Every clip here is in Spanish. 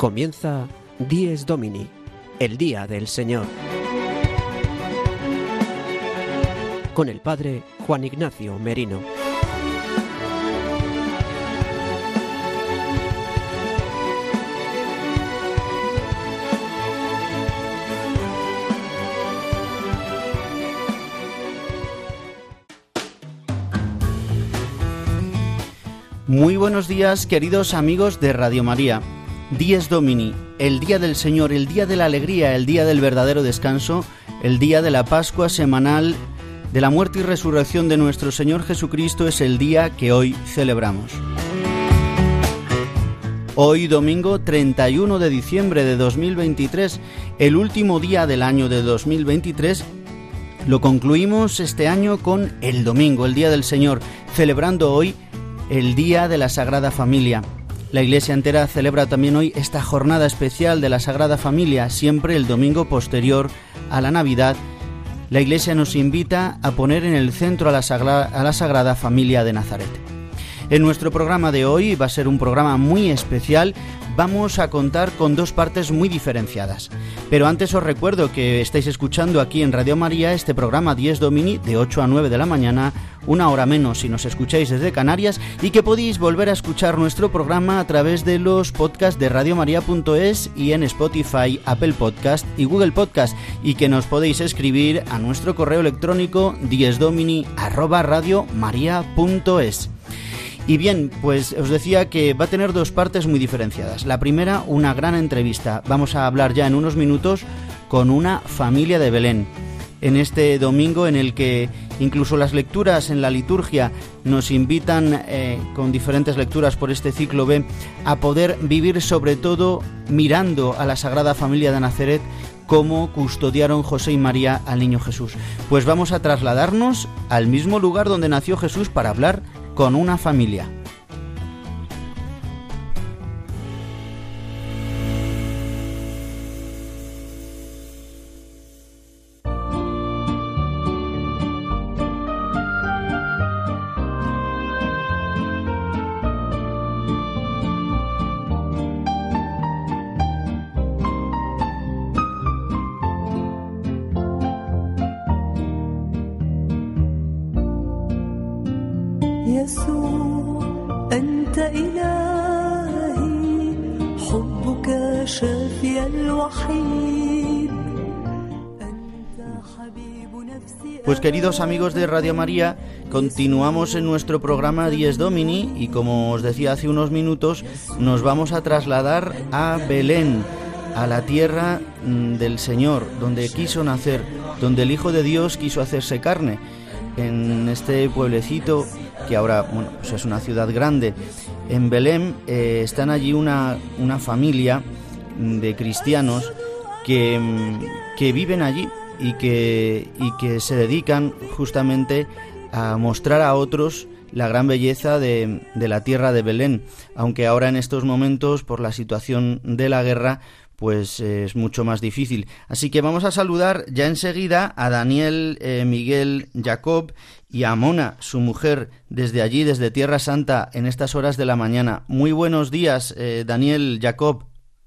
Comienza Dies Domini, el Día del Señor, con el Padre Juan Ignacio Merino. Muy buenos días, queridos amigos de Radio María. Dies Domini, el Día del Señor, el Día de la Alegría, el Día del verdadero descanso, el Día de la Pascua semanal, de la muerte y resurrección de nuestro Señor Jesucristo, es el día que hoy celebramos. Hoy, domingo 31 de diciembre de 2023, el último día del año de 2023, lo concluimos este año con el domingo, el Día del Señor, celebrando hoy el Día de la Sagrada Familia. La Iglesia entera celebra también hoy esta jornada especial de la Sagrada Familia, siempre el domingo posterior a la Navidad. La Iglesia nos invita a poner en el centro a la Sagrada Familia de Nazaret. En nuestro programa de hoy va a ser un programa muy especial. Vamos a contar con dos partes muy diferenciadas. Pero antes os recuerdo que estáis escuchando aquí en Radio María este programa Dies Domini de 8 a 9 de la mañana, una hora menos si nos escucháis desde Canarias, y que podéis volver a escuchar nuestro programa a través de los podcasts de radiomaria.es y en Spotify, Apple Podcast y Google Podcast, y que nos podéis escribir a nuestro correo electrónico diesdomini@radiomaria.es. Y bien, pues os decía que va a tener dos partes muy diferenciadas. La primera, una gran entrevista. Vamos a hablar ya en unos minutos con una familia de Belén. En este domingo en el que incluso las lecturas en la liturgia nos invitan, con diferentes lecturas por este ciclo B, a poder vivir sobre todo mirando a la Sagrada Familia de Nazaret, cómo custodiaron José y María al niño Jesús. Pues vamos a trasladarnos al mismo lugar donde nació Jesús para hablar con una familia. Pues queridos amigos de Radio María, continuamos en nuestro programa Dies Domini y como os decía hace unos minutos, nos vamos a trasladar a Belén, a la tierra del Señor, donde quiso nacer, donde el Hijo de Dios quiso hacerse carne, en este pueblecito que ahora pues es una ciudad grande. En Belén están allí una familia de cristianos que viven allí y que se dedican justamente a mostrar a otros la gran belleza de la tierra de Belén, aunque ahora en estos momentos por la situación de la guerra pues es mucho más difícil. Así que vamos a saludar ya enseguida a Daniel, Miguel, Jacob y a Mona, su mujer, desde allí, desde Tierra Santa, en estas horas de la mañana. Muy buenos días, Daniel, Jacob.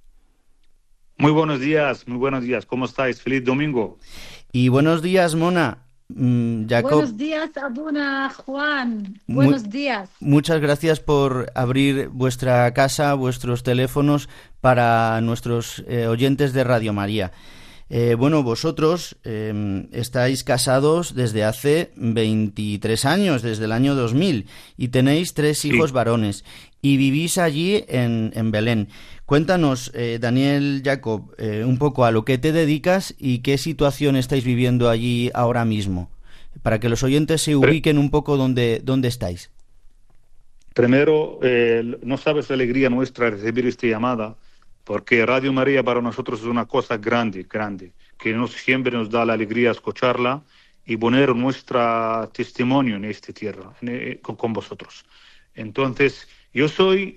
Muy buenos días, ¿cómo estáis? Feliz domingo. Y buenos días, Mona. Jacob. Buenos días, Abuna, Juan. Buenos días. Muchas gracias por abrir vuestra casa, vuestros teléfonos para nuestros oyentes de Radio María. Vosotros estáis casados desde hace 23 años, desde el año 2000, y tenéis 3 hijos varones, y vivís allí en Belén. Cuéntanos, Daniel, Jacob, un poco a lo que te dedicas y qué situación estáis viviendo allí ahora mismo, para que los oyentes se ubiquen un poco dónde estáis. Primero, no sabes la alegría nuestra de recibir esta llamada, porque Radio María para nosotros es una cosa grande, que siempre nos da la alegría escucharla y poner nuestro testimonio en esta tierra, con vosotros. Entonces, yo soy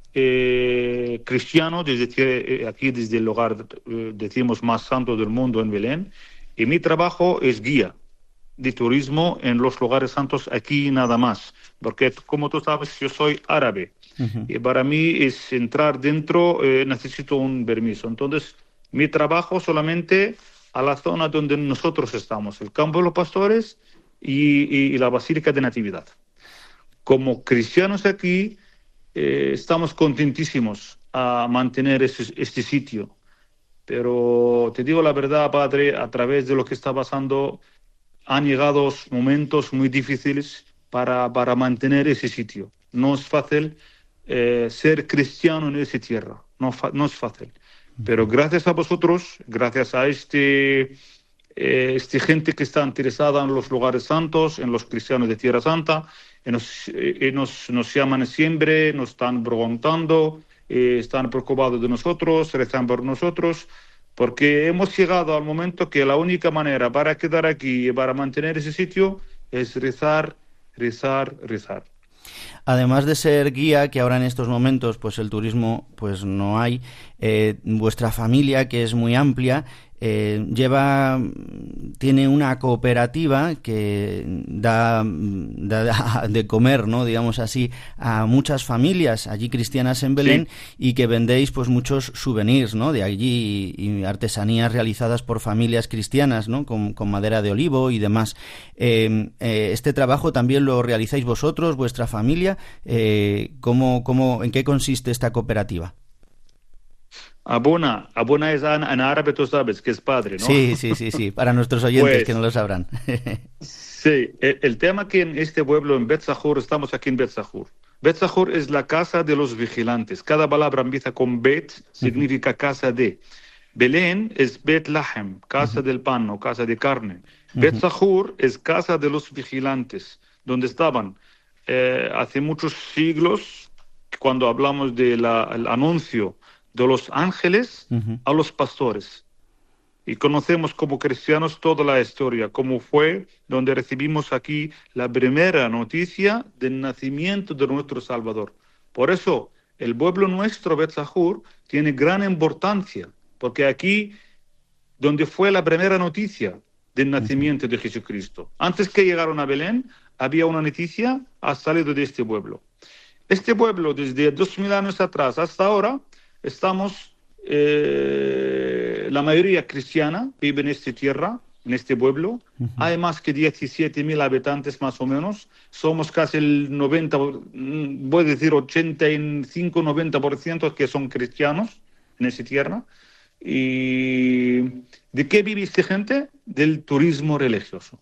cristiano aquí desde el lugar, decimos, más santo del mundo en Belén, y mi trabajo es guía de turismo en los lugares santos aquí nada más, porque como tú sabes yo soy árabe. Y para mí es entrar dentro, necesito un permiso. Entonces, mi trabajo solamente a la zona donde nosotros estamos, el campo de los pastores y la Basílica de Natividad. Como cristianos aquí, estamos contentísimos a mantener este sitio. Pero te digo la verdad, padre, a través de lo que está pasando, han llegado momentos muy difíciles para mantener ese sitio. No es fácil ser cristiano en esa tierra, no es fácil. Pero gracias a vosotros, gracias a gente que está interesada en los lugares santos, en los cristianos de Tierra Santa, nos llaman siempre, nos están preguntando, están preocupados de nosotros, rezan por nosotros, porque hemos llegado al momento que la única manera para quedar aquí y para mantener ese sitio es rezar, rezar, rezar. Además de ser guía, que ahora en estos momentos pues el turismo pues no hay, vuestra familia, que es muy amplia, tiene una cooperativa que da de comer, ¿no?, digamos así, a muchas familias allí cristianas en Belén, sí, y que vendéis pues muchos souvenirs, ¿no?, de allí y artesanías realizadas por familias cristianas, ¿no?, con madera de olivo y demás. Este trabajo también lo realizáis vosotros, vuestra familia. ¿En qué consiste esta cooperativa? Abuna es en árabe, tú sabes, que es padre, ¿no? Sí, para nuestros oyentes pues, que no lo sabrán. Sí, el tema que en este pueblo, en Bet Sahur, estamos aquí en Bet Sahur. Bet Sahur es la casa de los vigilantes. Cada palabra empieza con Bet, significa casa de. Belén es Bet Lahem, casa del pan o casa de carne. Bet Sahur es casa de los vigilantes, donde estaban hace muchos siglos, cuando hablamos del anuncio de los ángeles a los pastores. Y conocemos como cristianos toda la historia, cómo fue donde recibimos aquí la primera noticia del nacimiento de nuestro Salvador. Por eso, el pueblo nuestro, Bet Sahur, tiene gran importancia, porque aquí, donde fue la primera noticia del nacimiento de Jesucristo. Antes que llegaron a Belén, había una noticia, ha salido de este pueblo. Este pueblo, desde 2000 años atrás hasta ahora, estamos, la mayoría cristiana vive en esta tierra, en este pueblo. Hay más que 17.000 habitantes más o menos. Somos casi el 90, voy a decir 85-90% que son cristianos en esta tierra. ¿Y de qué vive esta gente? Del turismo religioso.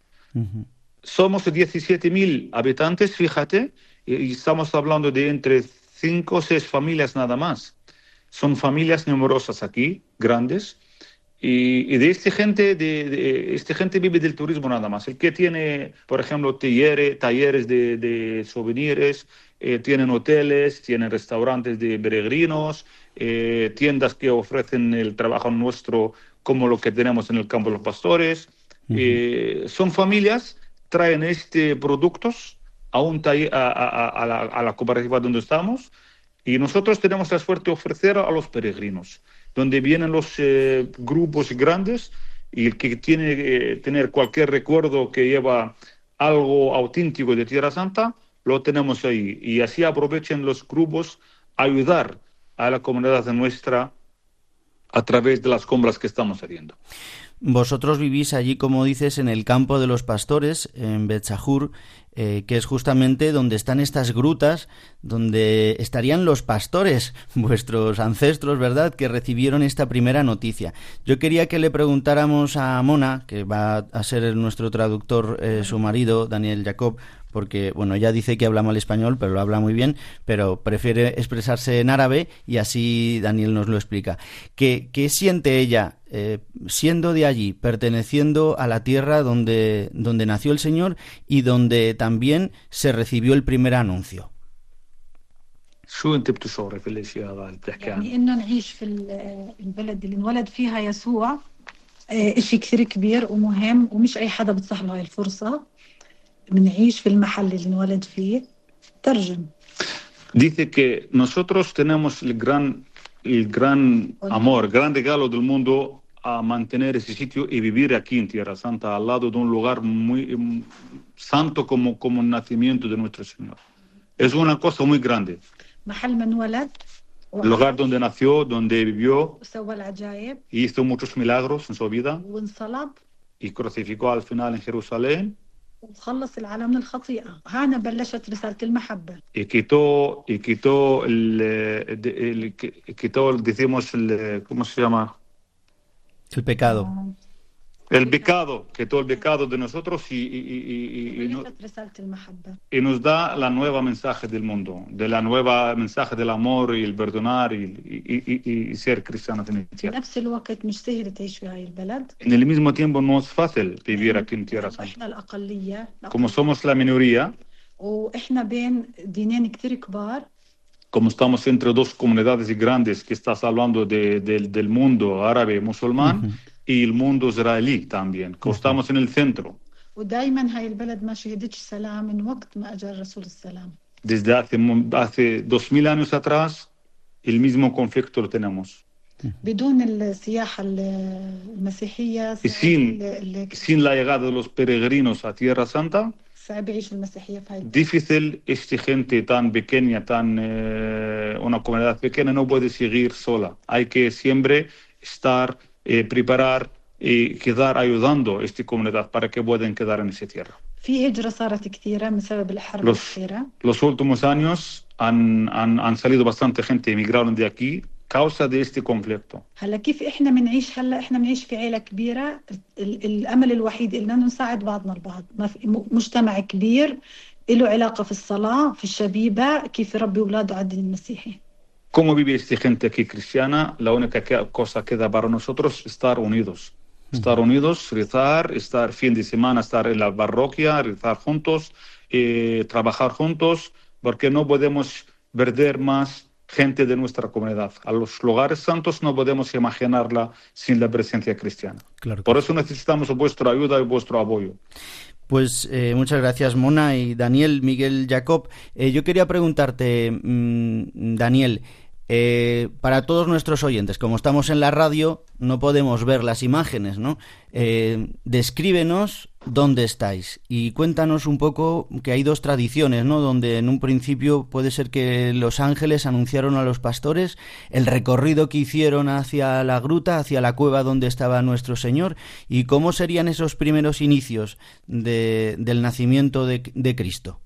Somos 17.000 habitantes, fíjate, y estamos hablando de entre 5 o 6 familias nada más. Son familias numerosas aquí, grandes, y de esta gente, esta gente vive del turismo nada más. El que tiene, por ejemplo, talleres de souvenirs, tienen hoteles, tienen restaurantes de peregrinos, tiendas que ofrecen el trabajo nuestro como lo que tenemos en el campo de los pastores. Son familias, traen productos a la cooperativa donde estamos. Y nosotros tenemos la suerte de ofrecer a los peregrinos, donde vienen los grupos grandes, y el que tiene que tener cualquier recuerdo que lleva algo auténtico de Tierra Santa, lo tenemos ahí. Y así aprovechan los grupos a ayudar a la comunidad nuestra a través de las compras que estamos haciendo. Vosotros vivís allí, como dices, en el campo de los pastores, en Bet Sahur, que es justamente donde están estas grutas, donde estarían los pastores, vuestros ancestros, ¿verdad?, que recibieron esta primera noticia. Yo quería que le preguntáramos a Mona, que va a ser nuestro traductor, su marido, Daniel Jacob, porque, bueno, ella dice que habla mal español, pero lo habla muy bien, pero prefiere expresarse en árabe y así Daniel nos lo explica. ¿Qué siente ella siendo de allí, perteneciendo a la tierra donde nació el Señor y donde también se recibió el primer anuncio? شو انت بتشعري في الاشياء هذا اللي بتحكي عنه؟ يعني انه نعيش في البلد اللي انولد فيها يسوع اشي كثير كبير ومهم، ومش اي حدا بتصح له هاي الفرصة. بنعيش في المحل اللي انولد فيه. ترجم. Dice que nosotros tenemos el gran amor, gran regalo del mundo a mantener ese sitio y vivir aquí en Tierra Santa, al lado de un lugar muy santo como el nacimiento de nuestro Señor. Es una cosa muy grande. محل ما انولد el lugar donde nació, donde vivió, وسوى العجائب hizo muchos milagros en su vida وانصلب y crucificó al final en Jerusalén وخلص العالم من الخطيئة. هنا بلشت رسالة المحبة. quitó, decimos, ¿cómo se llama? El pecado. El pecado, quitó el pecado de nosotros y بلشت رسالة المحبة. nos da la nueva mensaje del mundo, de la nueva mensaje del amor y el perdonar y ser cristianos en el في tierra. نفس الوقت مش سهل تعيش في هاي البلد. En el mismo tiempo no es fácil vivir aquí en Tierra Santa. احنا الأقلية. Como somos la minoría, واحنا بين دينين كتير كبار. como estamos entre dos comunidades grandes que estás hablando del mundo árabe musulmán y el mundo israelí también, que estamos en el centro. ودايما هاي البلد ما شهدتش سلام من وقت ما اجى الرسول السلام. Desde hace 2000 años atrás, el mismo conflicto lo tenemos. بدون السياحة المسيحية Y sin la llegada de los peregrinos a Tierra Santa, صعب يعيش المسيحية في هاي البلد. difícil esta gente tan pequeña, una comunidad pequeña no puede seguir sola. Hay que siempre estar, preparar y quedar ayudando a esta comunidad para que puedan quedar en esa tierra. في هجرة صارت كثيرة بسبب الحرب الأخيرة. Los últimos años han salido bastante gente, emigraron de aquí causa de este conflicto. هلا كيف احنا بنعيش؟ هلا احنا بنعيش في عائلة كبيرة، الامل الوحيد اننا نساعد بعضنا البعض. ما في مجتمع كبير له علاقة في الصلاة، في الشبيبة، كيف يربي اولاده على الدين المسيحي. ¿Cómo vive esta gente aquí cristiana? La única cosa que queda para nosotros es estar unidos. Estar unidos, rezar, estar fin de semana, estar en la parroquia, rezar juntos, trabajar juntos, porque no podemos perder más gente de nuestra comunidad. A los lugares santos no podemos imaginarla sin la presencia cristiana. Claro. Por eso necesitamos vuestra ayuda y vuestro apoyo. Pues muchas gracias, Mona y Daniel, Miguel, Jacob. Yo quería preguntarte, Daniel, para todos nuestros oyentes, como estamos en la radio, no podemos ver las imágenes, ¿no? Descríbenos dónde estáis y cuéntanos un poco que hay dos tradiciones, ¿no? Donde en un principio puede ser que los ángeles anunciaron a los pastores el recorrido que hicieron hacia la gruta, hacia la cueva donde estaba nuestro Señor, y cómo serían esos primeros inicios del nacimiento de Cristo.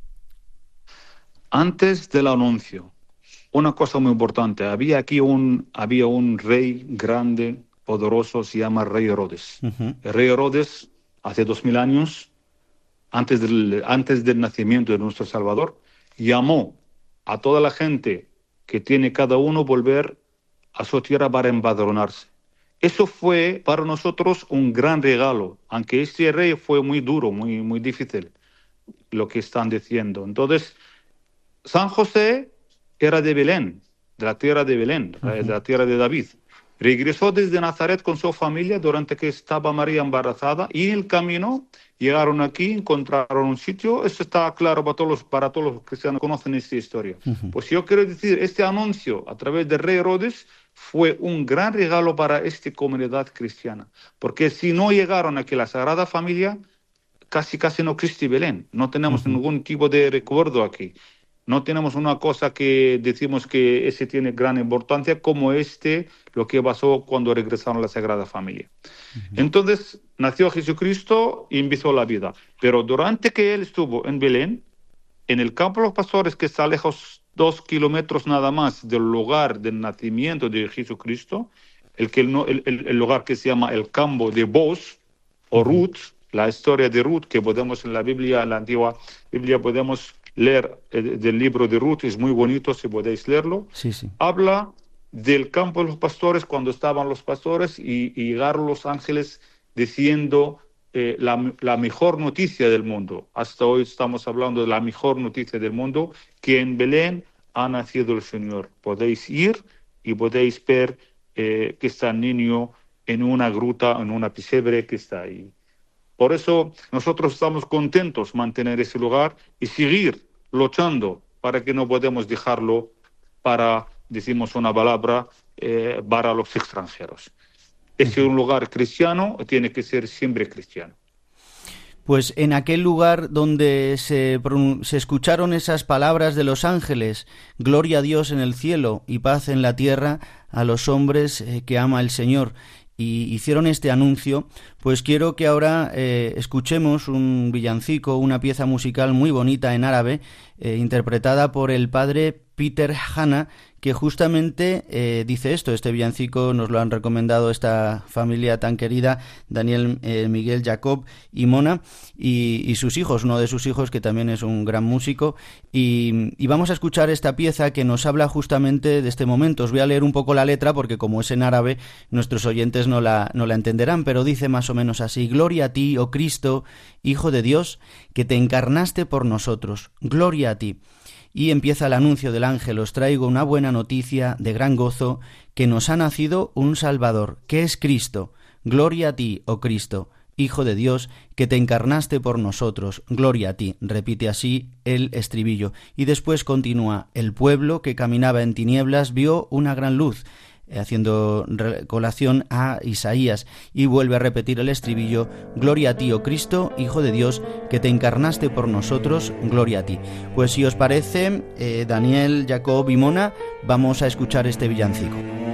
Antes del anuncio, una cosa muy importante, había un rey grande, poderoso, se llama Rey Herodes. El Rey Herodes, hace 2000 años, antes del nacimiento de nuestro Salvador, llamó a toda la gente que tiene cada uno volver a su tierra para empadronarse. Eso fue para nosotros un gran regalo, aunque este rey fue muy duro, muy, muy difícil, lo que están diciendo. Entonces, San José era de Belén, de la tierra de Belén, de la tierra de David. Regresó desde Nazaret con su familia durante que estaba María embarazada, y en el camino llegaron aquí, encontraron un sitio. Esto está claro para todos los cristianos que conocen esta historia. Pues yo quiero decir, este anuncio a través del rey Herodes fue un gran regalo para esta comunidad cristiana, porque si no llegaron aquí la Sagrada Familia, casi no existe Belén. No tenemos ningún tipo de recuerdo aquí. No tenemos una cosa que decimos que ese tiene gran importancia como lo que pasó cuando regresaron a la Sagrada Familia. Entonces nació Jesucristo y empezó la vida. Pero durante que él estuvo en Belén, en el campo de los pastores, que está lejos 2 kilómetros nada más del lugar del nacimiento de Jesucristo, el lugar que se llama el campo de Boz o Ruth, la historia de Ruth que podemos en la Biblia, en la antigua Biblia podemos leer del libro de Ruth, es muy bonito si podéis leerlo. Sí. Habla del campo de los pastores cuando estaban los pastores y llegaron los ángeles diciendo la mejor noticia del mundo. Hasta hoy estamos hablando de la mejor noticia del mundo, que en Belén ha nacido el Señor. Podéis ir y podéis ver que está el niño en una gruta, en una pesebre que está ahí. Por eso nosotros estamos contentos de mantener ese lugar y seguir luchando para que no podemos dejarlo para, decimos una palabra, para los extranjeros. Es un lugar cristiano, tiene que ser siempre cristiano. Pues en aquel lugar donde se escucharon esas palabras de los ángeles, gloria a Dios en el cielo y paz en la tierra a los hombres que ama el Señor, y hicieron este anuncio, pues quiero que ahora escuchemos un villancico, una pieza musical muy bonita en árabe, interpretada por el padre Peter Hanna, que justamente dice esto. Este villancico nos lo han recomendado esta familia tan querida, Daniel, Miguel, Jacob y Mona, y sus hijos, uno de sus hijos que también es un gran músico, y vamos a escuchar esta pieza que nos habla justamente de este momento. Os voy a leer un poco la letra porque como es en árabe nuestros oyentes no la entenderán, pero dice más o menos así: Gloria a ti, oh Cristo, Hijo de Dios, que te encarnaste por nosotros, gloria a ti. Y empieza el anuncio del ángel: os traigo una buena noticia de gran gozo, que nos ha nacido un Salvador, que es Cristo. Gloria a ti, oh Cristo, Hijo de Dios, que te encarnaste por nosotros. Gloria a ti. Repite así el estribillo. Y después continúa: el pueblo que caminaba en tinieblas vio una gran luz, haciendo colación a Isaías, y vuelve a repetir el estribillo: gloria a ti, oh Cristo, Hijo de Dios, que te encarnaste por nosotros, gloria a ti. Pues si os parece, Daniel, Jacob y Mona, vamos a escuchar este villancico.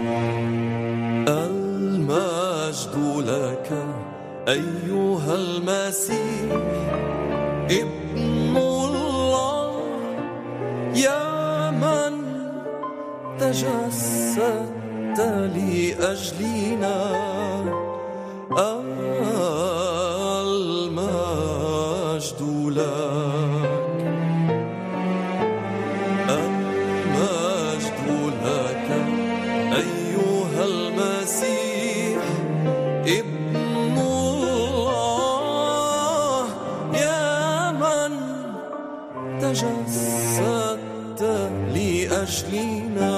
لأجلنا المجد لك المجد لك أيها المسيح ابن الله يا من تجسدت لأجلنا.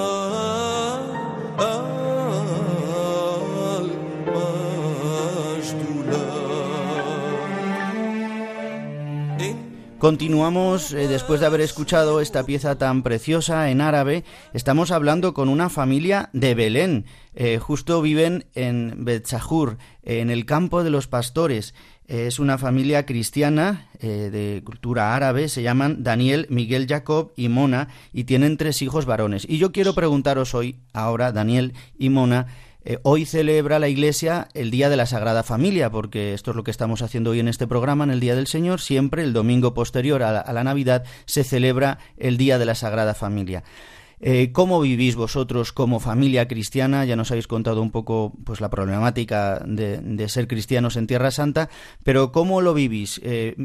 Continuamos, después de haber escuchado esta pieza tan preciosa en árabe. Estamos hablando con una familia de Belén. Justo viven en Betzahur, en el campo de los pastores. Es una familia cristiana de cultura árabe. Se llaman Daniel, Miguel, Jacob y Mona, y tienen 3 hijos varones. Y yo quiero preguntaros hoy, ahora, Daniel y Mona, hoy celebra la Iglesia el Día de la Sagrada Familia, porque esto es lo que estamos haciendo hoy en este programa, en el Día del Señor. Siempre el domingo posterior a la Navidad se celebra el Día de la Sagrada Familia. ¿Cómo vivís vosotros como familia cristiana? Ya nos habéis contado un poco pues la problemática de ser cristianos en Tierra Santa, pero ¿cómo lo vivís?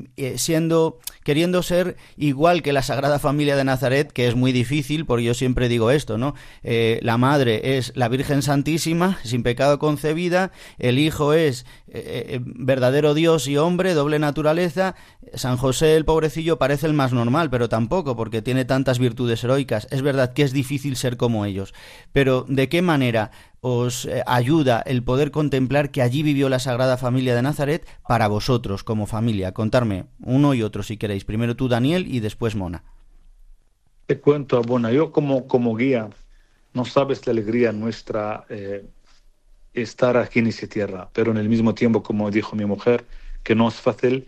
Queriendo ser igual que la Sagrada Familia de Nazaret, que es muy difícil, porque yo siempre digo esto, ¿no? La madre es la Virgen Santísima, sin pecado concebida, el hijo es verdadero Dios y hombre, doble naturaleza. San José, el pobrecillo, parece el más normal, pero tampoco, porque tiene tantas virtudes heroicas. Es verdad que es difícil ser como ellos, pero ¿de qué manera os ayuda el poder contemplar que allí vivió la Sagrada Familia de Nazaret para vosotros como familia? Contarme uno y otro si queréis. Primero tú, Daniel, y después Mona. Te cuento, Abona, yo como guía, no sabes la alegría nuestra estar aquí en esa tierra, pero en el mismo tiempo, como dijo mi mujer, que no es fácil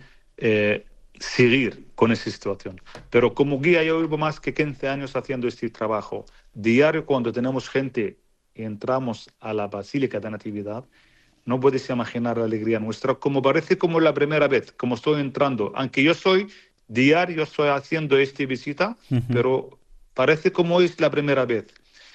seguir con esa situación. Pero como guía yo llevo más que 15 años haciendo este trabajo. Diario, cuando tenemos gente y entramos a la Basílica de Natividad, no puedes imaginar la alegría nuestra, como parece como la primera vez, como estoy entrando. Aunque yo soy diario, estoy haciendo esta visita, pero parece como es la primera vez.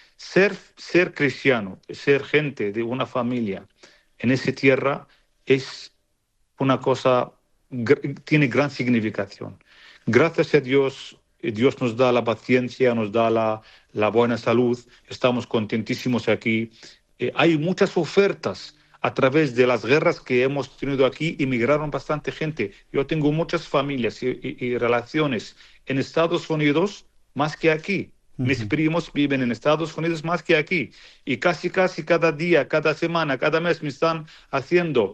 Ser cristiano, ser gente de una familia en esa tierra es una cosa, tiene gran significación. Gracias a Dios, Dios nos da la paciencia, nos da la buena salud, estamos contentísimos aquí. Hay muchas ofertas a través de las guerras que hemos tenido aquí, emigraron bastante gente. Yo tengo muchas familias y relaciones en Estados Unidos más que aquí. Mis primos viven en Estados Unidos más que aquí. Y casi cada día, cada semana, cada mes me están haciendo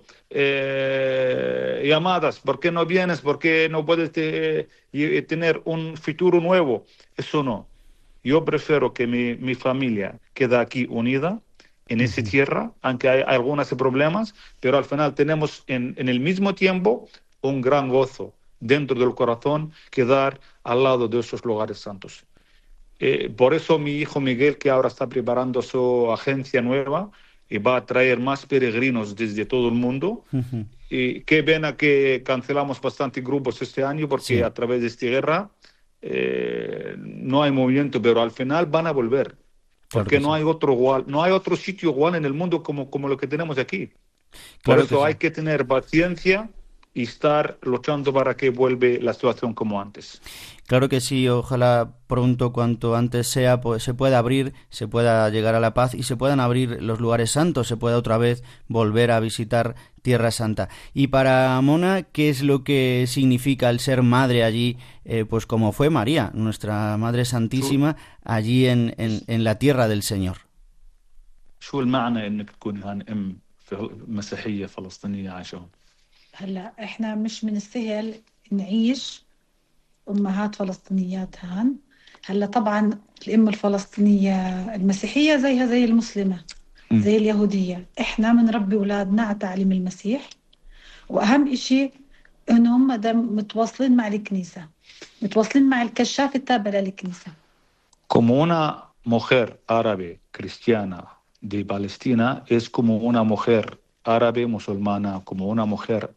llamadas. ¿Por qué no vienes? ¿Por qué no puedes tener un futuro nuevo? Eso no. Yo prefiero que mi familia quede aquí unida en esa tierra, aunque hay algunos problemas, pero al final tenemos en el mismo tiempo un gran gozo dentro del corazón quedar al lado de esos lugares santos. Por eso mi hijo Miguel, que ahora está preparando su agencia nueva y va a traer más peregrinos desde todo el mundo, Ujú. y qué pena que cancelamos bastantes grupos este año porque Sí. a través de esta guerra no hay movimiento, pero al final van a volver. Claro Porque que no sí. hay otro igual, no hay otro sitio igual en el mundo como lo que tenemos aquí. Por Claro que eso sí. hay que tener paciencia y estar luchando para que vuelva la situación como antes. Claro que sí, ojalá pronto, cuanto antes sea, pues se pueda abrir, se pueda llegar a la paz y se puedan abrir los lugares santos, se pueda otra vez volver a visitar Tierra Santa. Y para Mona, ¿qué es lo que significa el ser madre allí, pues como fue María, nuestra Madre شو Santísima, allí en la tierra del Señor? شو المعنى انك تكون هان ام مسيحية فلسطينية عايشة هون؟ هلا احنا مش من السهل نعيش امهات فلسطينيات هان. هلا طبعا الام الفلسطينيه المسيحيه زيها زي المسلمه زي اليهوديه، احنا بنربي اولادنا على تعليم المسيح، واهم اشي انه هم متواصلين مع الكنيسه، متواصلين مع الكشاف التابع للكنيسه. Como una mujer árabe cristiana de Palestina es como una mujer árabe musulmana, como una mujer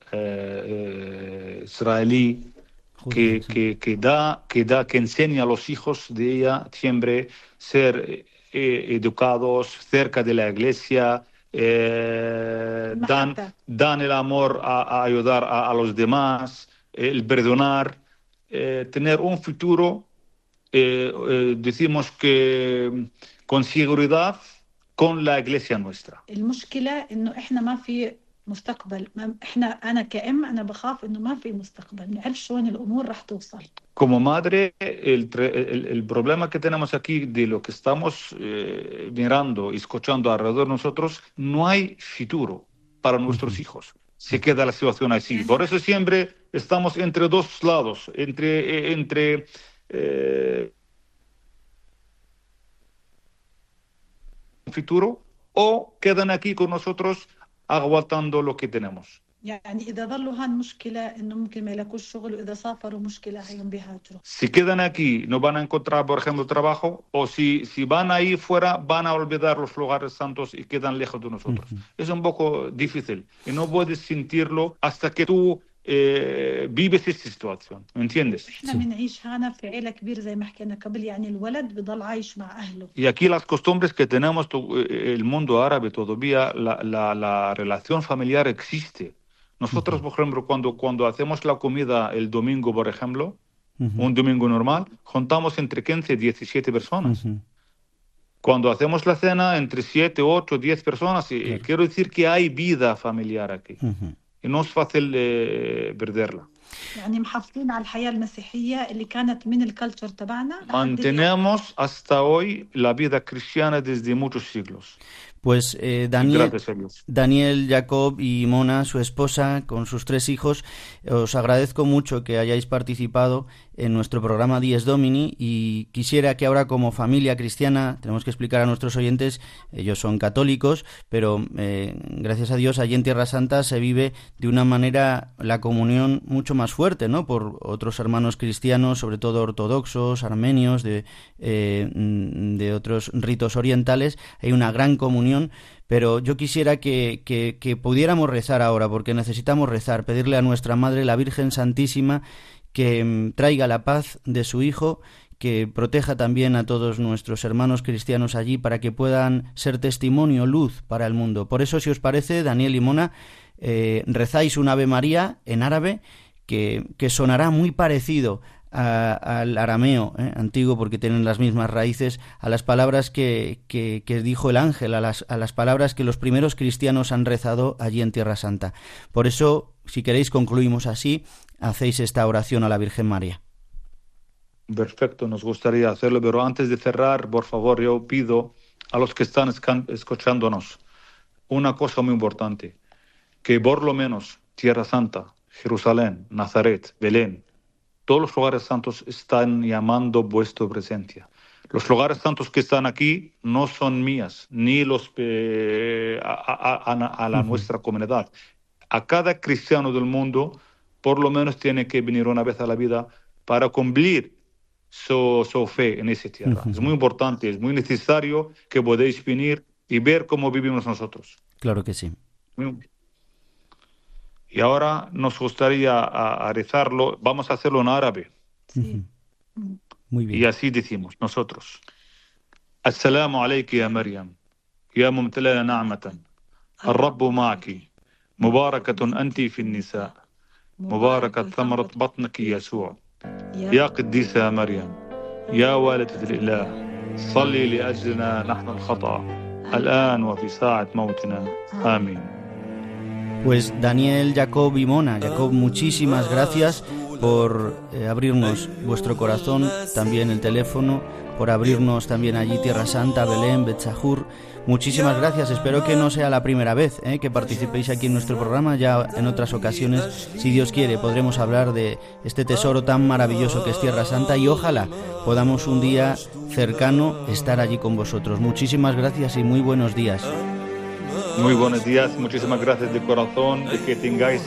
israelí Judía, sí. que enseña a los hijos de ella siempre ser educados cerca de la iglesia, المحبه. dan el amor a ayudar a los demás, el perdonar, tener un futuro, decimos que con seguridad con la iglesia nuestra. المشكله انه احنا ما في مستقبل، انا كأم انا بخاف انه ما في مستقبل، نعرف شلون الامور رح توصل. Como madre, el problema que tenemos aquí de lo que estamos mirando y escuchando alrededor de nosotros, no hay futuro para nuestros hijos. Se queda la situación así. Por eso siempre estamos entre dos lados, entre futuro o quedan aquí con nosotros aguantando lo que tenemos. يعني إذا ظلوا هان مشكلة إنه ممكن ما يلاقوش شغل، وإذا سافروا مشكلة هيهم بيهاجروا. Si quedan aquí, no van a encontrar, por ejemplo, trabajo, o si van ahí fuera, van a olvidar los lugares santos y quedan lejos de nosotros. Es un poco difícil y no puedes sentirlo hasta que tú vives esta situación, ¿me entiendes? إحنا بنعيش هنا في عيلة كبيرة زي ما حكينا قبل، يعني الولد بضل عايش مع أهله. Y aquí las costumbres que tenemos, el mundo árabe todavía, la relación familiar existe. Nosotros, por ejemplo, cuando hacemos la comida el domingo, por ejemplo, un domingo normal, juntamos entre 15 y 17 personas. Cuando hacemos la cena, entre 7, 8, 10 personas. Y Claro. quiero decir que hay vida familiar aquí. Y no es fácil perderla. يعني محافظين على الحياة المسيحية اللي كانت من الكالتشر تبعنا لحد اليوم. Mantenemos hasta hoy la vida cristiana desde muchos siglos. Pues Y Daniel, gracias a Dios. Daniel, Jacob y Mona, su esposa, con sus 3 hijos, os agradezco mucho que hayáis participado en nuestro programa Dies Domini y quisiera que ahora como familia cristiana, tenemos que explicar a nuestros oyentes, ellos son católicos, pero gracias a Dios allí en Tierra Santa se vive de una manera la comunión mucho más fuerte, ¿no? Por otros hermanos cristianos, sobre todo ortodoxos, armenios, de otros ritos orientales, hay una gran comunión. Pero yo quisiera que pudiéramos rezar ahora, porque necesitamos rezar, pedirle a nuestra Madre, la Virgen Santísima, que traiga la paz de su Hijo, que proteja también a todos nuestros hermanos cristianos allí para que puedan ser testimonio, luz para el mundo. Por eso, si os parece, Daniel y Mona, rezáis un Ave María en árabe que sonará muy parecido al arameo antiguo, porque tienen las mismas raíces, a las palabras que dijo el ángel, a las palabras que los primeros cristianos han rezado allí en Tierra Santa. Por eso, si queréis, concluimos así, hacéis esta oración a la Virgen María. Perfecto, nos gustaría hacerlo, pero antes de cerrar, por favor, yo pido a los que están escuchándonos una cosa muy importante, que por lo menos Tierra Santa, Jerusalén, Nazaret, Belén, todos los lugares santos están llamando vuestra presencia. Los lugares santos que están aquí no son mías, ni los a la nuestra comunidad. A cada cristiano del mundo por lo menos tiene que venir una vez a la vida para cumplir su fe en esa tierra. Es muy importante, es muy necesario que podáis venir y ver cómo vivimos nosotros. Claro que sí. Y ahora nos gustaría a rezarlo, vamos a hacerlo en árabe. Sí. Muy bien. Y así decimos nosotros. Assalamu alayki ya Maryam, ya mumtalana na'matan, al-Rabbu ma'aki, mubarakatun anti fi an-nisa, mubarakat thamarat batnaki Yasuu. يا قديسة يا مريم يا والدة الإله صلي لأجلنا نحن الخطأ الآن وفي ساعة موتنا آمين. Pues Daniel, Jacob y Mona, Jacob, muchísimas gracias por abrirnos vuestro corazón, también el teléfono, por abrirnos también allí Tierra Santa, Belén, Betzahur. Muchísimas gracias, espero que no sea la primera vez que participéis aquí en nuestro programa. Ya en otras ocasiones, si Dios quiere, podremos hablar de este tesoro tan maravilloso que es Tierra Santa, y ojalá podamos un día cercano estar allí con vosotros. Muchísimas gracias y muy buenos días. Muy buenos días, muchísimas gracias de corazón, y que tengáis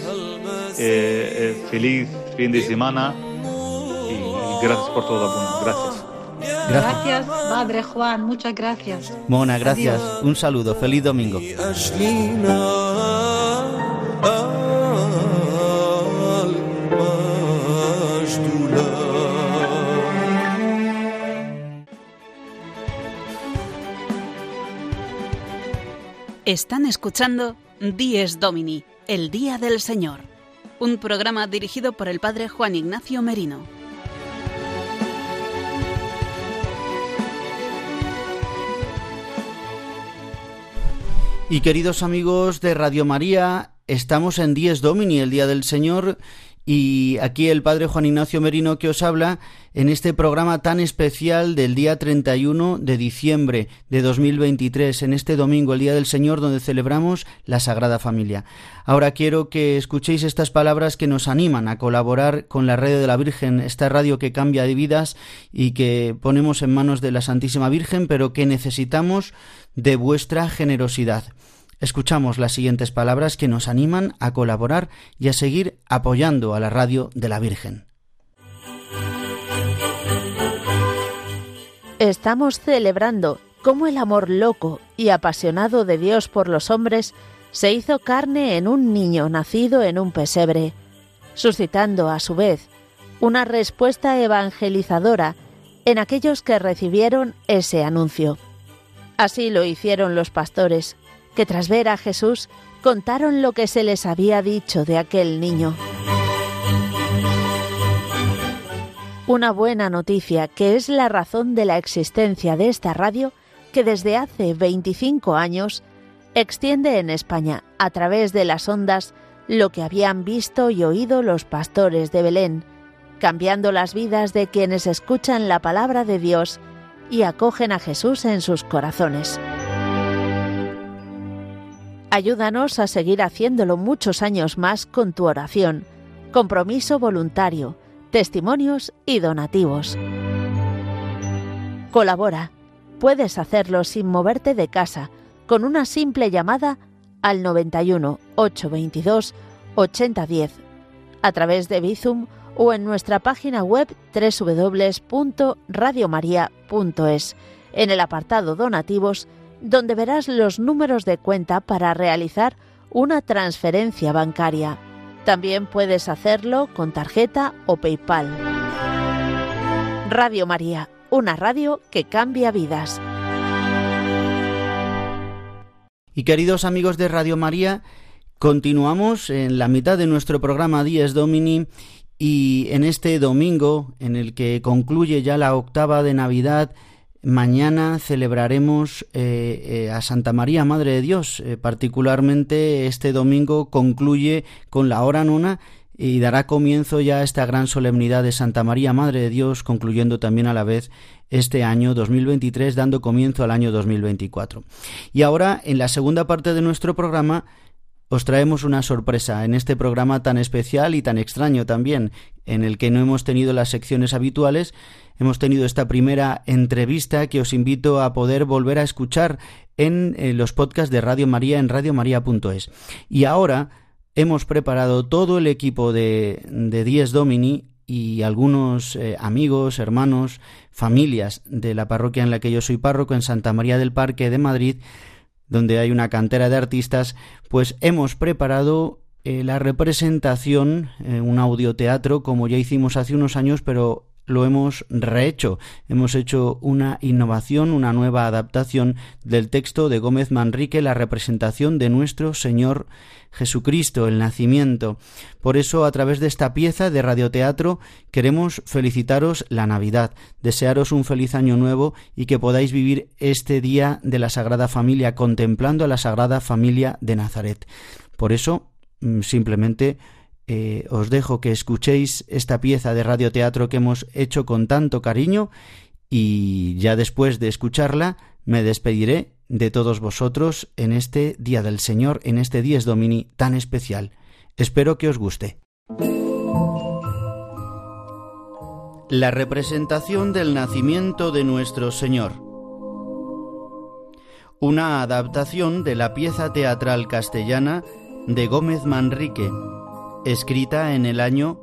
feliz fin de semana, y gracias por todo, Abuna. Gracias. Gracias, Padre Juan, muchas gracias. Mona, gracias. Adiós. Un saludo, feliz domingo. Están escuchando Dies Domini, el Día del Señor, un programa dirigido por el Padre Juan Ignacio Merino. Y queridos amigos de Radio María, estamos en Dies Domini, el Día del Señor, y aquí el Padre Juan Ignacio Merino que os habla en este programa tan especial del día 31 de diciembre de 2023, en este domingo, el Día del Señor, donde celebramos la Sagrada Familia. Ahora quiero que escuchéis estas palabras que nos animan a colaborar con la Radio de la Virgen, esta radio que cambia de vidas y que ponemos en manos de la Santísima Virgen, pero que necesitamos de vuestra generosidad. Escuchamos las siguientes palabras que nos animan a colaborar y a seguir apoyando a la Radio de la Virgen. Estamos celebrando cómo el amor loco y apasionado de Dios por los hombres se hizo carne en un niño nacido en un pesebre, suscitando a su vez una respuesta evangelizadora en aquellos que recibieron ese anuncio. Así lo hicieron los pastores, que tras ver a Jesús contaron lo que se les había dicho de aquel niño. Una buena noticia que es la razón de la existencia de esta radio, que desde hace 25 años extiende en España a través de las ondas lo que habían visto y oído los pastores de Belén, cambiando las vidas de quienes escuchan la palabra de Dios y acogen a Jesús en sus corazones. Ayúdanos a seguir haciéndolo muchos años más con tu oración, compromiso voluntario, testimonios y donativos. Colabora. Puedes hacerlo sin moverte de casa, con una simple llamada al 91 822 8010, a través de Bizum o en nuestra página web www.radiomaria.es, en el apartado Donativos, donde verás los números de cuenta para realizar una transferencia bancaria. También puedes hacerlo con tarjeta o PayPal. Radio María, una radio que cambia vidas. Y queridos amigos de Radio María, continuamos en la mitad de nuestro programa Dies Domini, y en este domingo, en el que concluye ya la octava de Navidad, mañana celebraremos a Santa María, Madre de Dios. Particularmente este domingo concluye con la hora nona y dará comienzo ya a esta gran solemnidad de Santa María, Madre de Dios, concluyendo también a la vez este año 2023, dando comienzo al año 2024. Y ahora, en la segunda parte de nuestro programa, os traemos una sorpresa en este programa tan especial y tan extraño también, en el que no hemos tenido las secciones habituales. Hemos tenido esta primera entrevista que os invito a poder volver a escuchar en los podcasts de Radio María en radiomaria.es. Y ahora hemos preparado todo el equipo de Dies Domini y algunos amigos, hermanos, familias de la parroquia en la que yo soy párroco, en Santa María del Parque de Madrid, donde hay una cantera de artistas, pues hemos preparado la representación, un audioteatro, como ya hicimos hace unos años, pero lo hemos rehecho. Hemos hecho una innovación, una nueva adaptación del texto de Gómez Manrique, la representación de nuestro Señor Jesucristo, el nacimiento. Por eso, a través de esta pieza de radioteatro, queremos felicitaros la Navidad, desearos un feliz año nuevo y que podáis vivir este día de la Sagrada Familia, contemplando a la Sagrada Familia de Nazaret. Por eso, simplemente os dejo que escuchéis esta pieza de radioteatro que hemos hecho con tanto cariño, y ya después de escucharla me despediré de todos vosotros en este Día del Señor, en este Dies Domini tan especial. Espero que os guste. La representación del nacimiento de nuestro Señor. Una adaptación de la pieza teatral castellana de Gómez Manrique, escrita en el año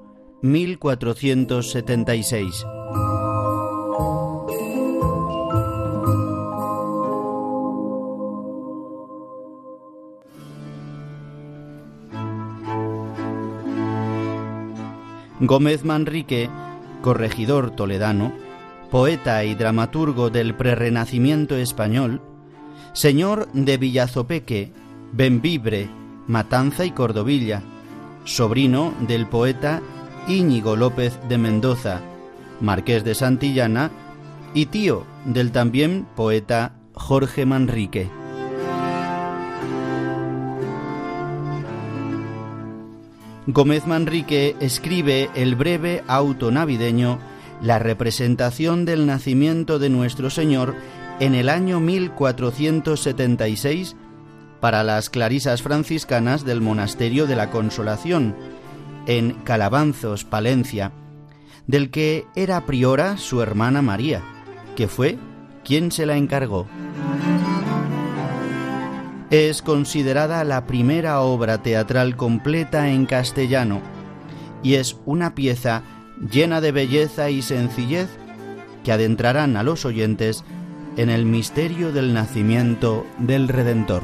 1476. Gómez Manrique, corregidor toledano, poeta y dramaturgo del prerrenacimiento español, señor de Villazopeque, Bembibre, Matanza y Cordovilla, sobrino del poeta Íñigo López de Mendoza, marqués de Santillana, y tío del también poeta Jorge Manrique. Gómez Manrique escribe el breve auto navideño La representación del nacimiento de nuestro Señor en el año 1476 para las clarisas franciscanas del Monasterio de la Consolación, en Calabanzos, Palencia, del que era priora su hermana María, que fue quien se la encargó. Es considerada la primera obra teatral completa en castellano y es una pieza llena de belleza y sencillez que adentrarán a los oyentes en el misterio del nacimiento del Redentor.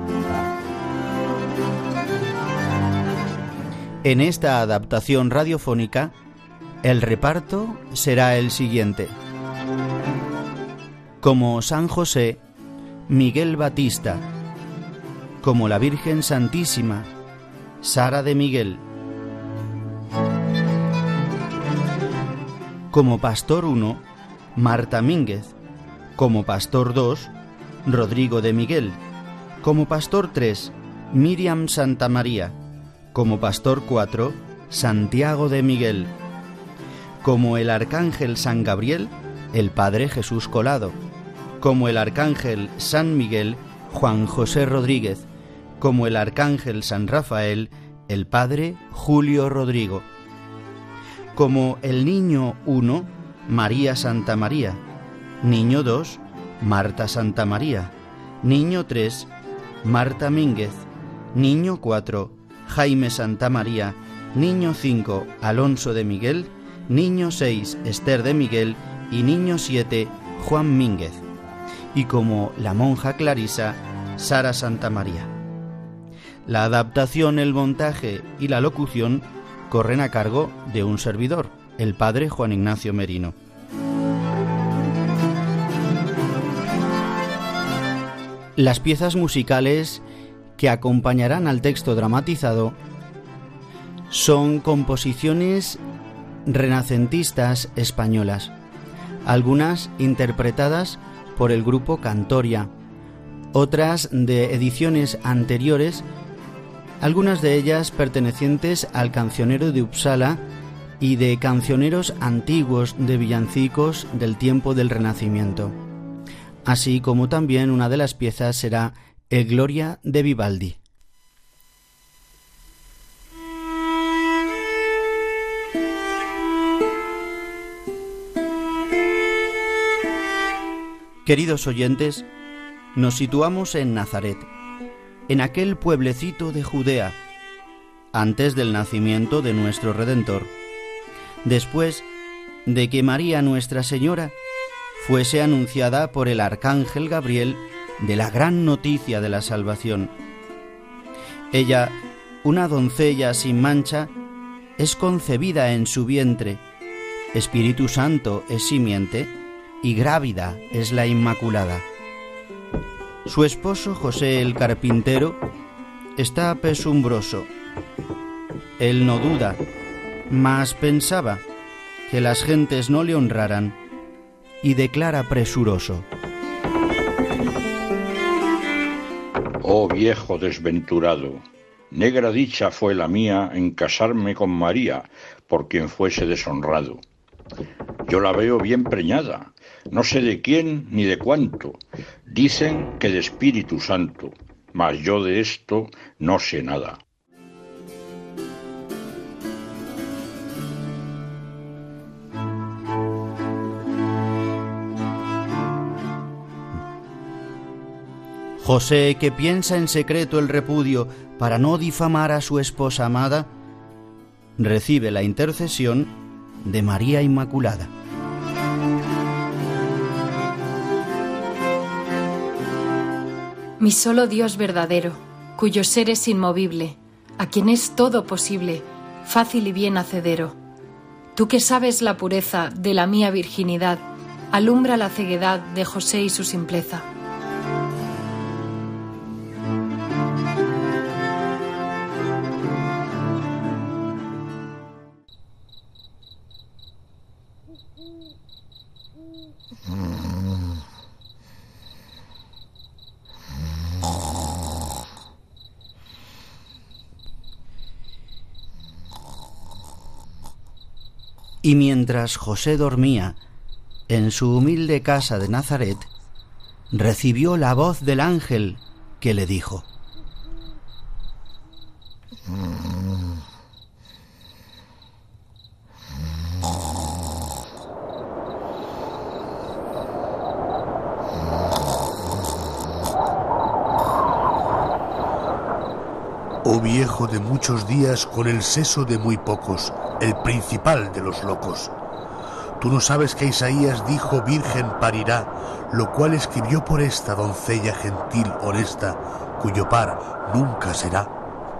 En esta adaptación radiofónica, el reparto será el siguiente. Como San José, Miguel Batista. Como la Virgen Santísima, Sara de Miguel. Como Pastor 1, Marta Mínguez. Como Pastor 2, Rodrigo de Miguel. Como Pastor 3, Miriam Santamaría. Como Pastor 4, Santiago de Miguel. Como el Arcángel San Gabriel, el Padre Jesús Colado. Como el Arcángel San Miguel, Juan José Rodríguez. Como el Arcángel San Rafael, el Padre Julio Rodrigo. Como el Niño 1, María Santa María. Niño 2, Marta Santa María. Niño 3, Marta Mínguez. Niño 4, Jaime Santa María. Niño 5, Alonso de Miguel. Niño 6, Esther de Miguel. Y niño 7, Juan Mínguez. Y como la monja clarisa, Sara Santa María. La adaptación, el montaje y la locución corren a cargo de un servidor, el padre Juan Ignacio Merino. Las piezas musicales que acompañarán al texto dramatizado son composiciones renacentistas españolas, algunas interpretadas por el grupo Cantoria, otras de ediciones anteriores, algunas de ellas pertenecientes al cancionero de Uppsala y de cancioneros antiguos de villancicos del tiempo del Renacimiento. Así como también una de las piezas será El Gloria de Vivaldi. Queridos oyentes, nos situamos en Nazaret, en aquel pueblecito de Judea, antes del nacimiento de nuestro Redentor, después de que María Nuestra Señora fuese anunciada por el arcángel Gabriel de la gran noticia de la salvación. Ella, una doncella sin mancha, es concebida en su vientre, Espíritu Santo es simiente y grávida es la Inmaculada. Su esposo José el carpintero está pesumbroso. Él no duda, mas pensaba que las gentes no le honraran y declara presuroso: Oh viejo desventurado, negra dicha fue la mía en casarme con María, por quien fuese deshonrado. Yo la veo bien preñada, no sé de quién ni de cuánto, dicen que de Espíritu Santo, mas yo de esto no sé nada. José, que piensa en secreto el repudio para no difamar a su esposa amada, recibe la intercesión de María Inmaculada. Mi solo Dios verdadero, cuyo ser es inmovible, a quien es todo posible, fácil y bien hacedero. Tú que sabes la pureza de la mía virginidad, alumbra la ceguedad de José y su simpleza. Y mientras José dormía en su humilde casa de Nazaret, recibió la voz del ángel que le dijo: Oh viejo de muchos días con el seso de muy pocos, el principal de los locos. Tú no sabes que Isaías dijo virgen parirá, lo cual escribió por esta doncella gentil honesta, cuyo par nunca será.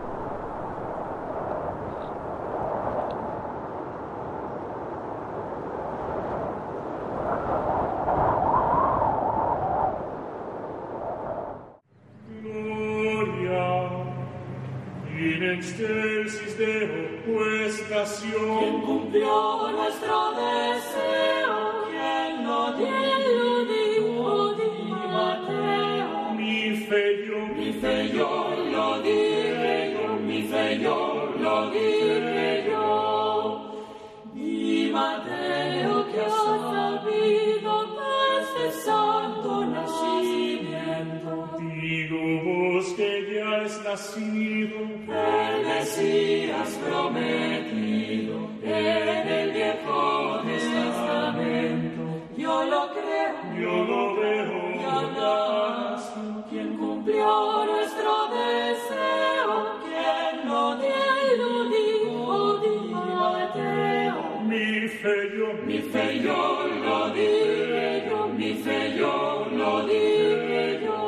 Quien cumplió nuestro deseo, quien lo dijo, di Mateo. Mi fe yo lo diré yo, mi fe yo lo diré yo. Di Mateo que ha sabido desde santo nacimiento. Digo vos que ya es nacido el Mesías prometido en el Viejo Testamento. Yo lo creo, yo lo veo, ya nació. Quien cumplió nuestro deseo, quien lo dijo, di Mateo. Mi fe yo lo diré yo, mi fe yo lo diré yo.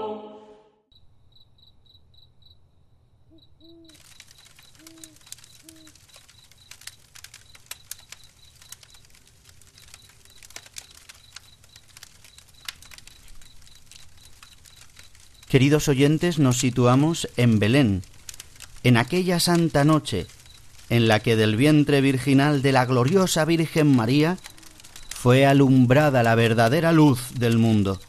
Queridos oyentes, nos situamos en Belén, en aquella santa noche en la que del vientre virginal de la gloriosa Virgen María fue alumbrada la verdadera luz del mundo.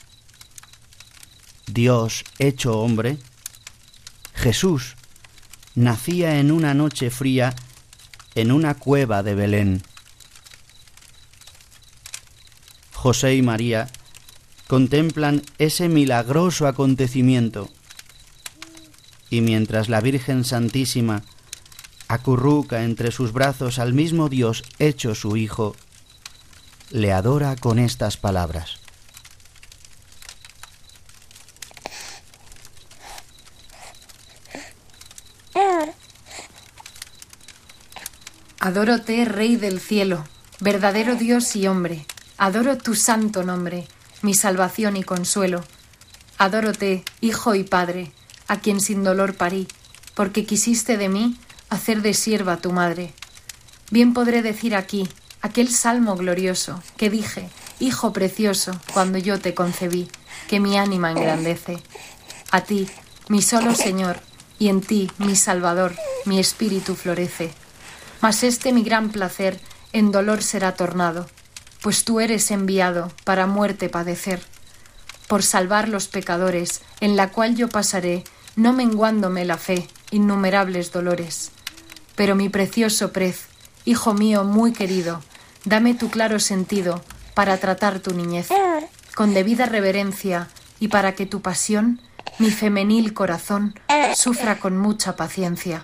Dios hecho hombre, Jesús, nacía en una noche fría en una cueva de Belén. José y María contemplan ese milagroso acontecimiento y mientras la Virgen Santísima acurruca entre sus brazos al mismo Dios hecho su Hijo, le adora con estas palabras: Adórote, Rey del cielo, verdadero Dios y hombre. Adoro tu santo nombre, mi salvación y consuelo. Adórote, Hijo y Padre, a quien sin dolor parí, porque quisiste de mí hacer de sierva tu madre. Bien podré decir aquí aquel salmo glorioso que dije, Hijo precioso, cuando yo te concebí, que mi ánima engrandece. A ti, mi solo Señor, y en ti, mi Salvador, mi espíritu florece. Mas este mi gran placer en dolor será tornado, pues tú eres enviado para muerte padecer. Por salvar los pecadores, en la cual yo pasaré, no menguándome la fe, innumerables dolores. Pero mi precioso prez, Hijo mío muy querido, dame tu claro sentido para tratar tu niñez, con debida reverencia, y para que tu pasión, mi femenil corazón, sufra con mucha paciencia.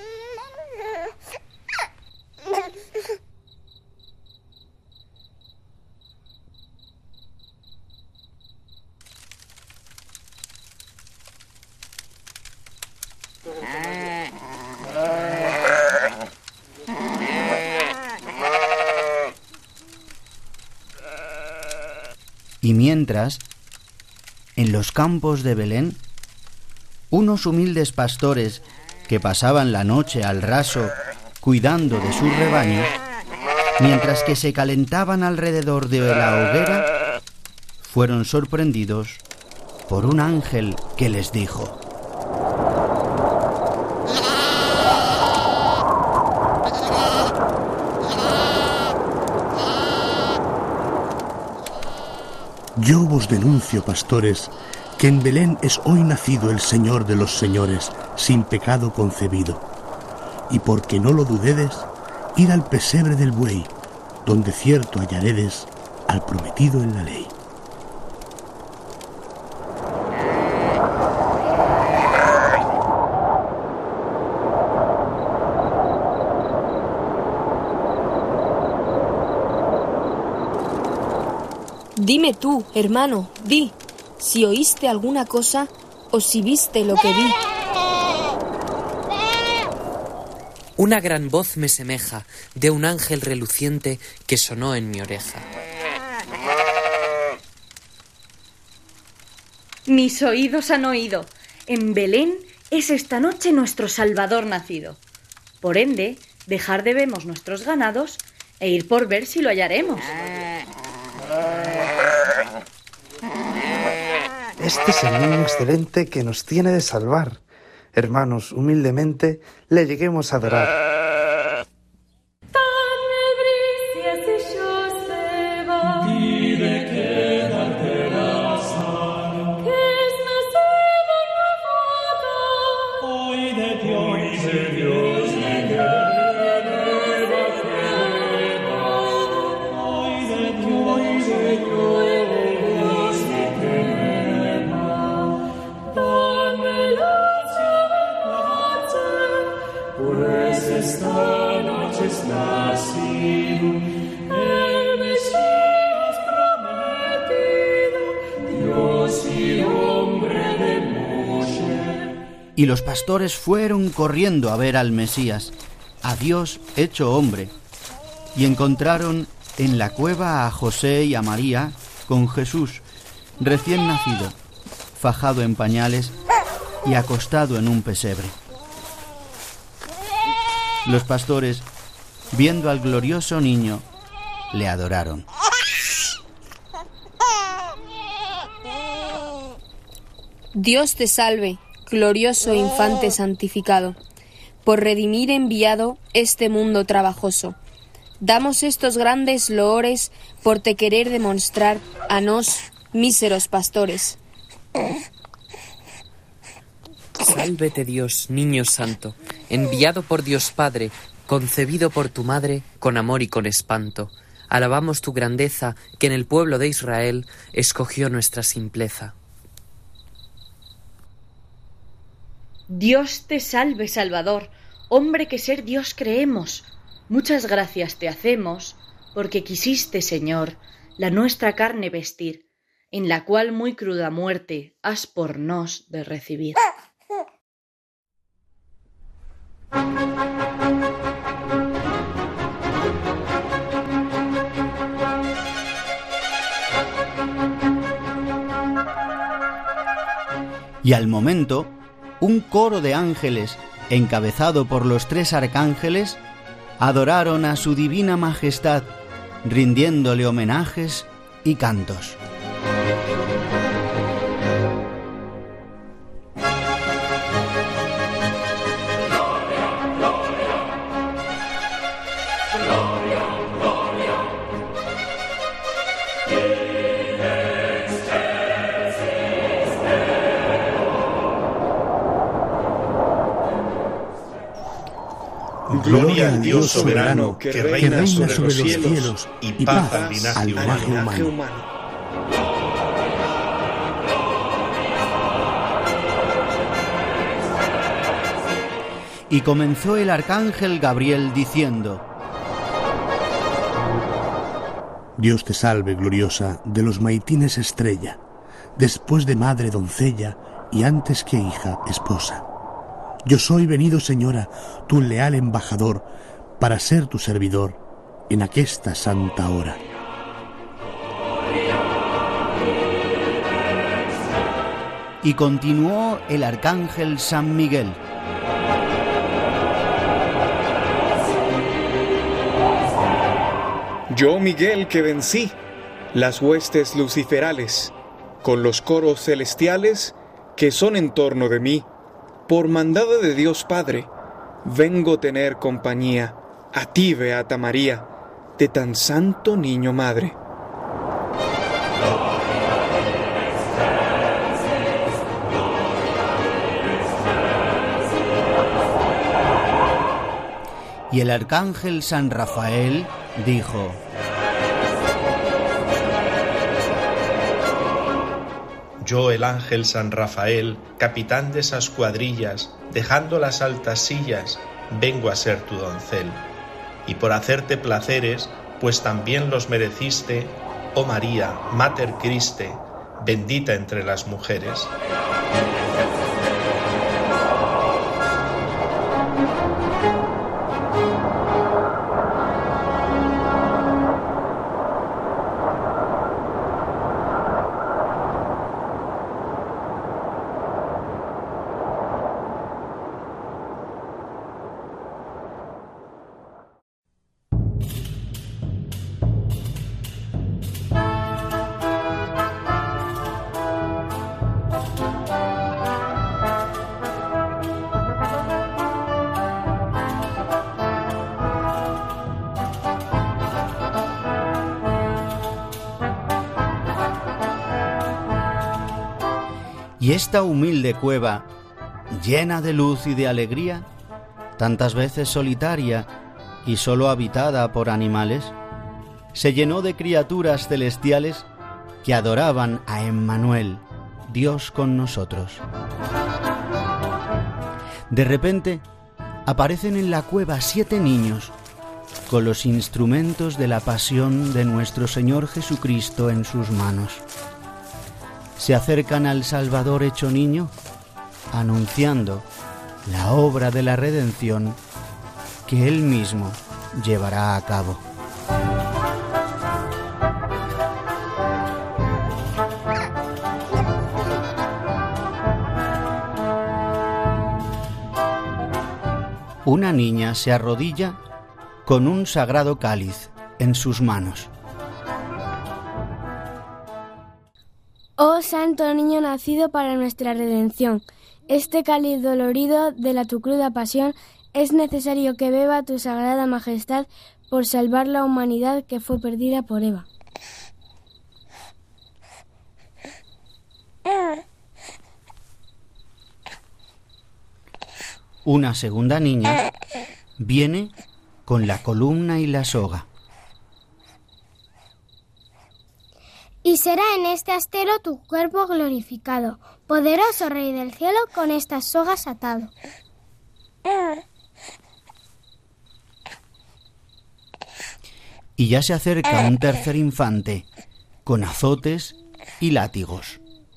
Y mientras, en los campos de Belén, unos humildes pastores que pasaban la noche al raso cuidando de sus rebaños, mientras que se calentaban alrededor de la hoguera, fueron sorprendidos por un ángel que les dijo: Yo vos denuncio, pastores, que en Belén es hoy nacido el Señor de los señores, sin pecado concebido. Y porque no lo dudedes, id al pesebre del buey, donde cierto hallaredes al prometido en la ley. Dime tú, hermano, di, si oíste alguna cosa o si viste lo que vi. Una gran voz me semeja de un ángel reluciente que sonó en mi oreja. Mis oídos han oído. En Belén es esta noche nuestro Salvador nacido. Por ende, dejar debemos nuestros ganados e ir por ver si lo hallaremos. Este es el niño excelente que nos tiene de salvar. Hermanos, humildemente le lleguemos a adorar. Y los pastores fueron corriendo a ver al Mesías, a Dios hecho hombre, y encontraron en la cueva a José y a María con Jesús, recién nacido, fajado en pañales y acostado en un pesebre. Los pastores, viendo al glorioso niño, le adoraron. Dios te salve, glorioso infante santificado, por redimir enviado este mundo trabajoso. Damos estos grandes loores por te querer demostrar a nos, míseros pastores. Sálvete Dios, niño santo, enviado por Dios Padre, concebido por tu madre, con amor y con espanto. Alabamos tu grandeza, que en el pueblo de Israel escogió nuestra simpleza. Dios te salve, Salvador, hombre que ser Dios creemos. Muchas gracias te hacemos, porque quisiste, Señor, la nuestra carne vestir, en la cual muy cruda muerte has por nos de recibir. Y al momento, un coro de ángeles, encabezado por los 3 arcángeles, adoraron a su divina majestad, rindiéndole homenajes y cantos. Gloria al Dios soberano que reina sobre los cielos y paz al linaje humano. Y comenzó el arcángel Gabriel diciendo: Dios te salve, gloriosa, de los maitines estrella, después de madre doncella y antes que hija esposa. Yo soy venido, Señora, tu leal embajador, para ser tu servidor en aquesta santa hora. Y continuó el arcángel San Miguel: Yo, Miguel, que vencí las huestes luciferales, con los coros celestiales que son en torno de mí, por mandado de Dios Padre, vengo tener compañía a ti, Beata María, de tan santo niño madre. Y el arcángel San Rafael dijo: Yo, el ángel San Rafael, capitán de esas cuadrillas, dejando las altas sillas, vengo a ser tu doncel. Y por hacerte placeres, pues también los mereciste, oh María, Mater Christi, bendita entre las mujeres. Y esta humilde cueva, llena de luz y de alegría, tantas veces solitaria y solo habitada por animales, se llenó de criaturas celestiales que adoraban a Emmanuel, Dios con nosotros. De repente, aparecen en la cueva 7 niños, con los instrumentos de la pasión de nuestro Señor Jesucristo en sus manos. Se acercan al Salvador hecho niño, anunciando la obra de la redención que Él mismo llevará a cabo. Una niña se arrodilla con un sagrado cáliz en sus manos. Oh Santo Niño nacido para nuestra redención, este cáliz dolorido de tu cruda pasión es necesario que beba tu sagrada majestad por salvar la humanidad que fue perdida por Eva. Una segunda niña viene con la columna y la soga. Y será en este astero tu cuerpo glorificado, poderoso Rey del cielo, con estas sogas atado. Y ya se acerca un tercer infante, con azotes y látigos.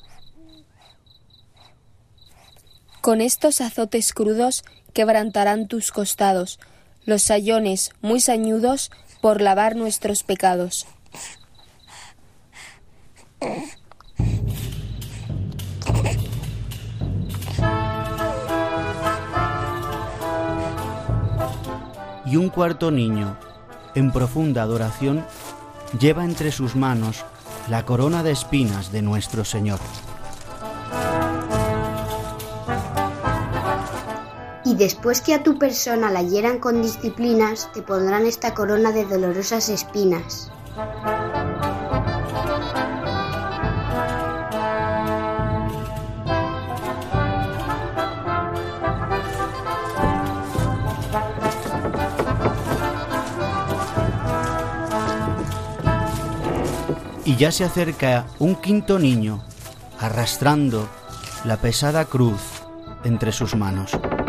Con estos azotes crudos quebrantarán tus costados, los sayones muy sañudos por lavar nuestros pecados. y un cuarto niño, en profunda adoración, lleva entre sus manos la corona de espinas de nuestro Señor. Y después que a tu persona la hieran con disciplinas, te pondrán esta corona de dolorosas espinas. Y ya se acerca un quinto niño, arrastrando la pesada cruz entre sus manos.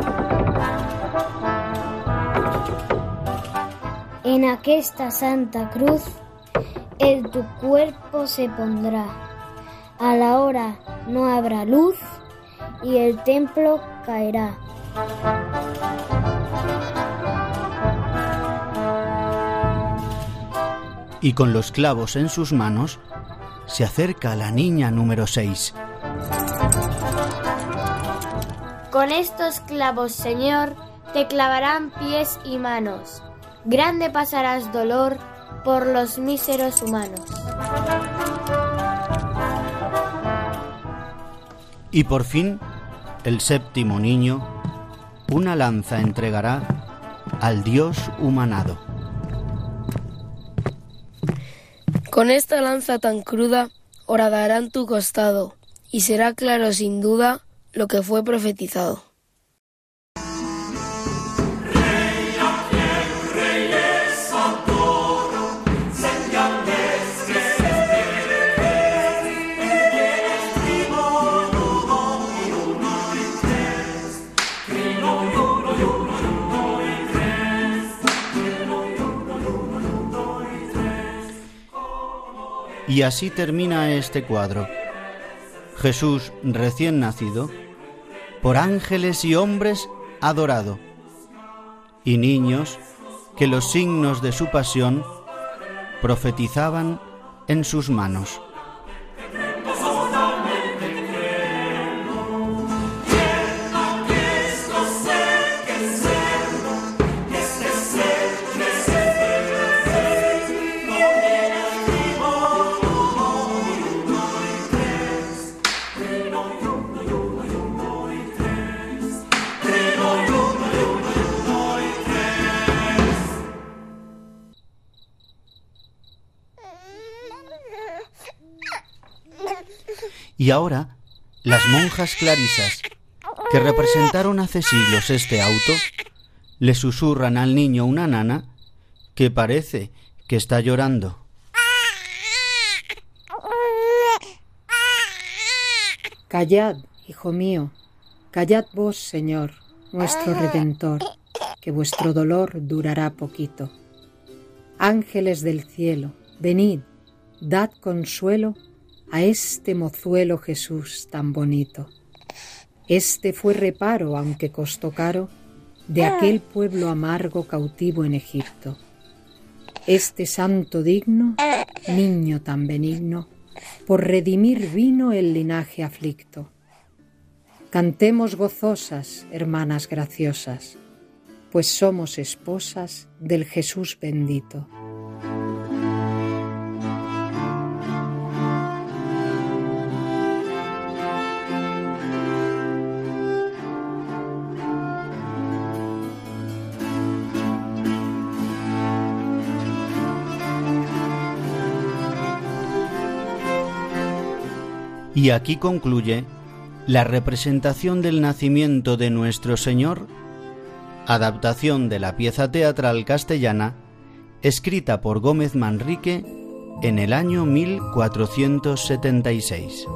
En aquesta santa cruz el tu cuerpo se pondrá. A la hora no habrá luz y el templo caerá. Y con los clavos en sus manos se acerca la niña número 6. Con estos clavos, Señor, te clavarán pies y manos. Grande pasarás dolor por los míseros humanos. Y por fin, el séptimo niño, una lanza entregará al Dios humanado. Con esta lanza tan cruda horadarán tu costado, y será claro sin duda lo que fue profetizado. Y así termina este cuadro. Jesús recién nacido, por ángeles y hombres adorado, y niños que los signos de su pasión profetizaban en sus manos. Y ahora, las monjas clarisas, que representaron hace siglos este auto, le susurran al niño una nana que parece que está llorando. Callad, hijo mío, callad vos, Señor, nuestro Redentor, que vuestro dolor durará poquito. Ángeles del cielo, venid, dad consuelo a este mozuelo Jesús tan bonito. Este fue reparo, aunque costó caro, de aquel pueblo amargo cautivo en Egipto. Este santo digno, niño tan benigno, por redimir vino el linaje aflicto. Cantemos gozosas, hermanas graciosas, pues somos esposas del Jesús bendito. Y aquí concluye la representación del nacimiento de nuestro Señor, adaptación de la pieza teatral castellana, escrita por Gómez Manrique en el año 1476.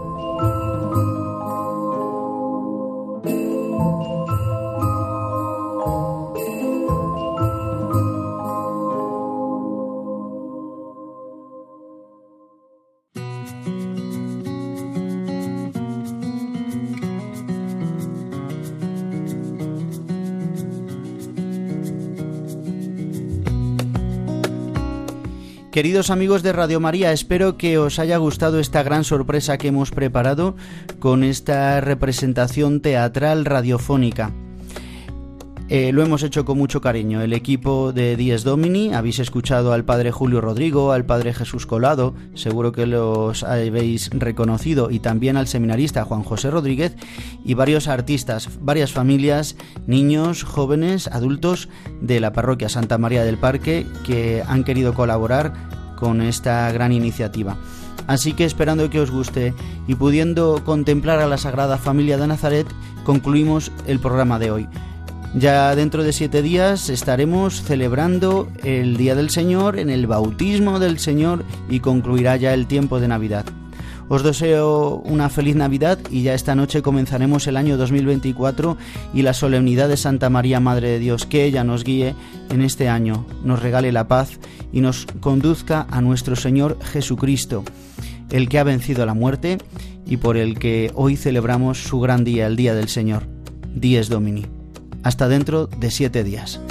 Queridos amigos de Radio María, espero que os haya gustado esta gran sorpresa que hemos preparado con esta representación teatral radiofónica. Lo hemos hecho con mucho cariño. El equipo de Dies Domini, habéis escuchado al padre Julio Rodrigo, al padre Jesús Colado, seguro que los habéis reconocido, y también al seminarista Juan José Rodríguez, y varios artistas, varias familias, niños, jóvenes, adultos de la parroquia Santa María del Parque que han querido colaborar con esta gran iniciativa. Así que, esperando que os guste y pudiendo contemplar a la Sagrada Familia de Nazaret, concluimos el programa de hoy. Ya dentro de 7 días estaremos celebrando el Día del Señor, en el bautismo del Señor, y concluirá ya el tiempo de Navidad. Os deseo una feliz Navidad, y ya esta noche comenzaremos el año 2024 y la solemnidad de Santa María, Madre de Dios. Que ella nos guíe en este año, nos regale la paz y nos conduzca a nuestro Señor Jesucristo, el que ha vencido la muerte y por el que hoy celebramos su gran día, el Día del Señor. Dies Domini. Hasta dentro de 7 días.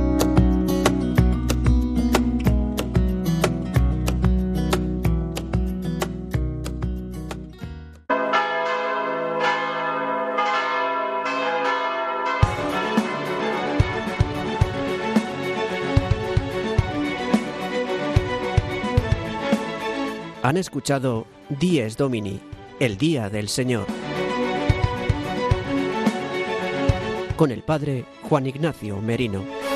Han escuchado Dies Domini, el Día del Señor, con el padre Juan Ignacio Merino.